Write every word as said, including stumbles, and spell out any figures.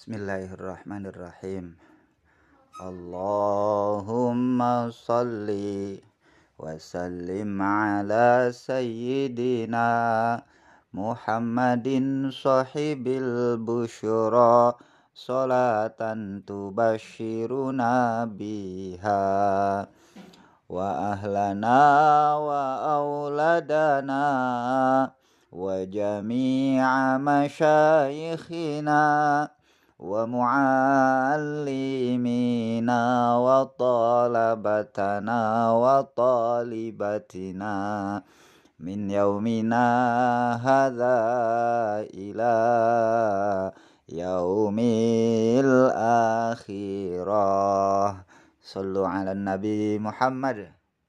Bismillahirrahmanirrahim. Allahumma salli wa sallim ala sayyidina Muhammadin sahibil busyra salatan tubashiruna biha wa ahlana wa auladana wa jami'a masyayikhina wa muallimina wa talabatana wa talibatina min yaumina hadza ila yaumil akhirah. Sallu ala Nabi Muhammad.